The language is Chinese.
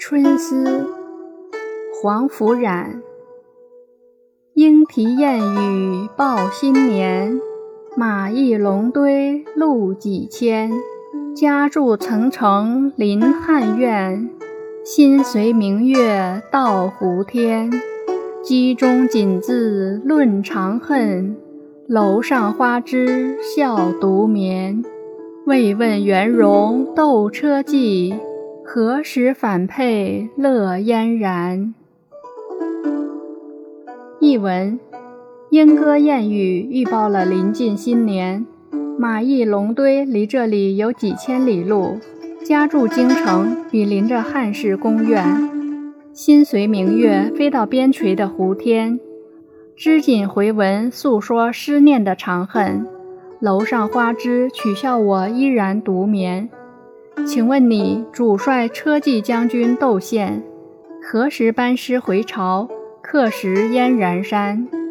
春思，黄甫冉。莺啼燕语报新年，马邑龙堆路几千。家住层城临汉苑，心随明月到湖天。机中锦字论长恨，楼上花枝笑独眠。未问元戎斗车骑，何时反配乐嫣然。译文：莺歌燕语预报了临近新年。马邑龙堆离这里有几千里路，家住京城，比邻着汉室宫苑。心随明月飞到边陲的湖天，织锦回文诉说思念的长恨。楼上花枝取笑我依然独眠。请问你主帅车骑将军窦宪，何时班师回朝，客食燕然山？